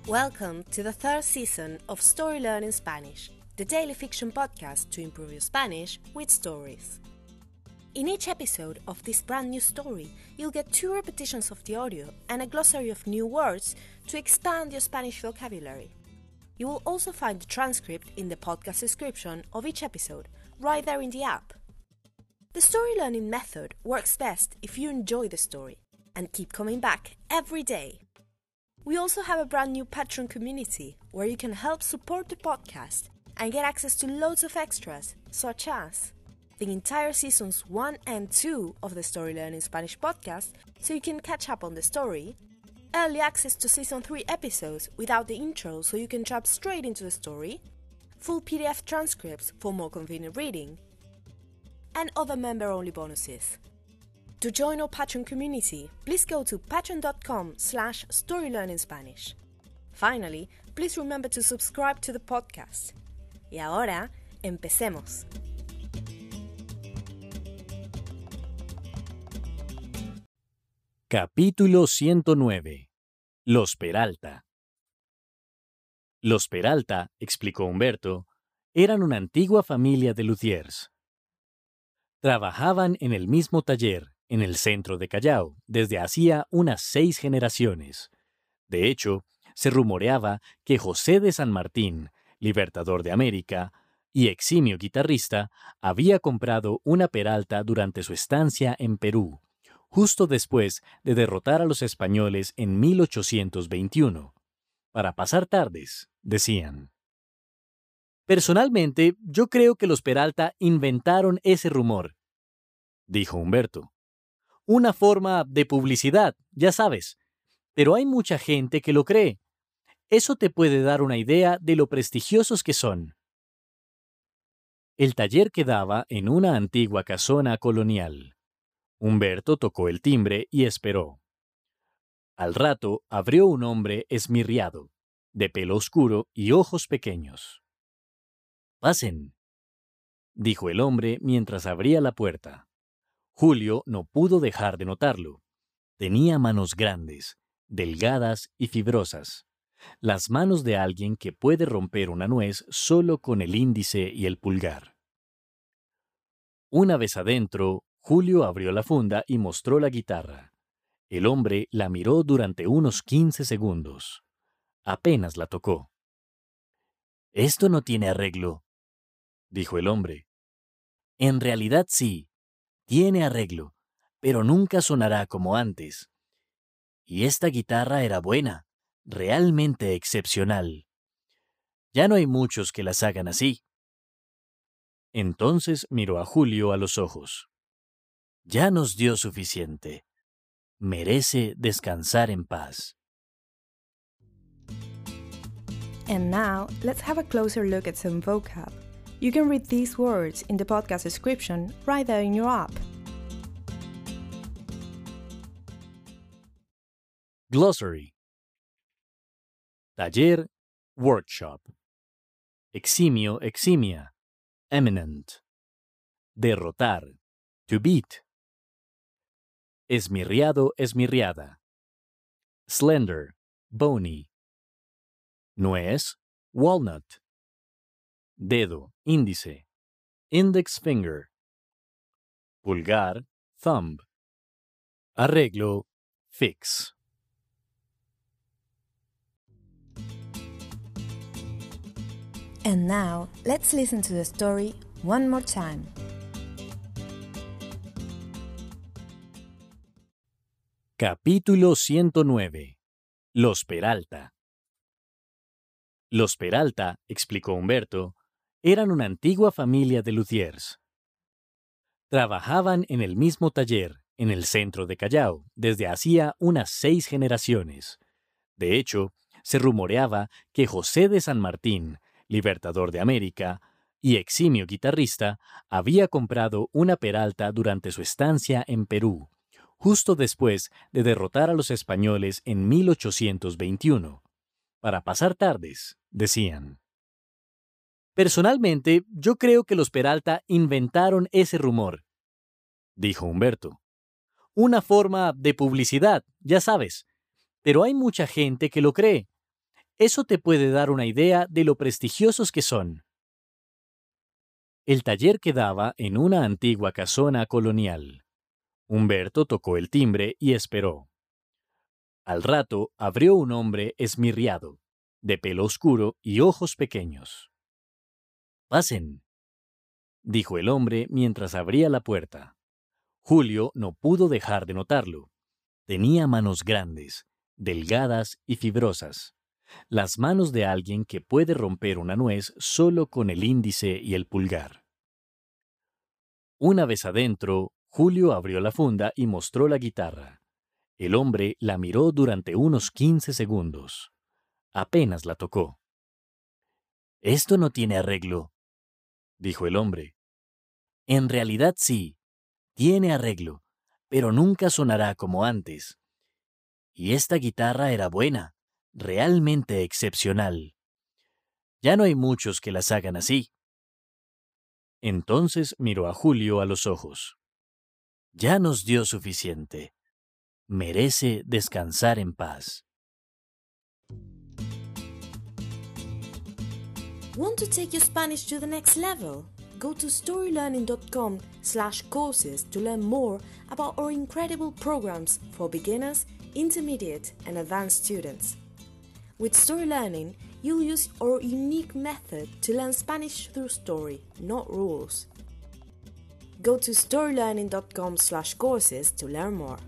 Welcome to the third season of Story Learning Spanish, the daily fiction podcast to improve your Spanish with stories. In each episode of this brand new story, you'll get 2 repetitions of the audio and a glossary of new words to expand your Spanish vocabulary. You will also find the transcript in the podcast description of each episode, right there in the app. The story learning method works best if you enjoy the story and keep coming back every day. We also have a brand new Patreon community where you can help support the podcast and get access to loads of extras, such as the entire seasons 1 and 2 of the Story Learning Spanish podcast, so you can catch up on the story, early access to season 3 episodes without the intro so you can jump straight into the story, full PDF transcripts for more convenient reading, and other member-only bonuses. To join our Patreon community, please go to patreon.com/storylearningspanish. Finally, please remember to subscribe to the podcast. Y ahora, empecemos. Capítulo 109. Los Peralta. Los Peralta, explicó Humberto, eran una antigua familia de luthiers. Trabajaban en el mismo taller, en el centro de Callao, desde hacía unas 6 generaciones. De hecho, se rumoreaba que José de San Martín, libertador de América y eximio guitarrista, había comprado una Peralta durante su estancia en Perú, justo después de derrotar a los españoles en 1821. Para pasar tardes, decían. Personalmente, yo creo que los Peralta inventaron ese rumor, dijo Humberto. Una forma de publicidad, ya sabes, pero hay mucha gente que lo cree. Eso te puede dar una idea de lo prestigiosos que son. El taller quedaba en una antigua casona colonial. Humberto tocó el timbre y esperó. Al rato abrió un hombre esmirriado, de pelo oscuro y ojos pequeños. «Pasen», dijo el hombre mientras abría la puerta. Julio no pudo dejar de notarlo. Tenía manos grandes, delgadas y fibrosas. Las manos de alguien que puede romper una nuez solo con el índice y el pulgar. Una vez adentro, Julio abrió la funda y mostró la guitarra. El hombre la miró durante unos 15 segundos. Apenas la tocó. «Esto no tiene arreglo», dijo el hombre. «En realidad sí. Tiene arreglo, pero nunca sonará como antes. Y esta guitarra era buena, realmente excepcional. Ya no hay muchos que las hagan así». Entonces miró a Julio a los ojos. «Ya nos dio suficiente. Merece descansar en paz». And now, let's have a closer look at some vocab. You can read these words in the podcast description right there in your app. Glossary. Taller, workshop. Eximio, eximia. Eminent. Derrotar, to beat. Esmirriado, esmirriada. Slender, bony. Nuez, walnut. Dedo, índice. Index finger. Pulgar, thumb. Arreglo, fix. And now, let's listen to the story one more time. Capítulo 109. Los Peralta. Los Peralta, explicó Humberto, eran una antigua familia de luthiers. Trabajaban en el mismo taller, en el centro de Callao, desde hacía unas 6 generaciones. De hecho, se rumoreaba que José de San Martín, libertador de América y eximio guitarrista, había comprado una Peralta durante su estancia en Perú, justo después de derrotar a los españoles en 1821. Para pasar tardes, decían. Personalmente, yo creo que los Peralta inventaron ese rumor, dijo Humberto. Una forma de publicidad, ya sabes, pero hay mucha gente que lo cree. Eso te puede dar una idea de lo prestigiosos que son. El taller quedaba en una antigua casona colonial. Humberto tocó el timbre y esperó. Al rato abrió un hombre esmirriado, de pelo oscuro y ojos pequeños. «Pasen», dijo el hombre mientras abría la puerta. Julio no pudo dejar de notarlo. Tenía manos grandes, delgadas y fibrosas. Las manos de alguien que puede romper una nuez solo con el índice y el pulgar. Una vez adentro, Julio abrió la funda y mostró la guitarra. El hombre la miró durante unos 15 segundos. Apenas la tocó. «Esto no tiene arreglo», dijo el hombre. «En realidad sí, tiene arreglo, pero nunca sonará como antes. Y esta guitarra era buena, realmente excepcional. Ya no hay muchos que las hagan así». Entonces miró a Julio a los ojos. «Ya nos dio suficiente. Merece descansar en paz». Want to take your Spanish to the next level? Go to storylearning.com/courses to learn more about our incredible programs for beginners, intermediate, and advanced students. With Story Learning, you'll use our unique method to learn Spanish through story, not rules. Go to storylearning.com/courses to learn more.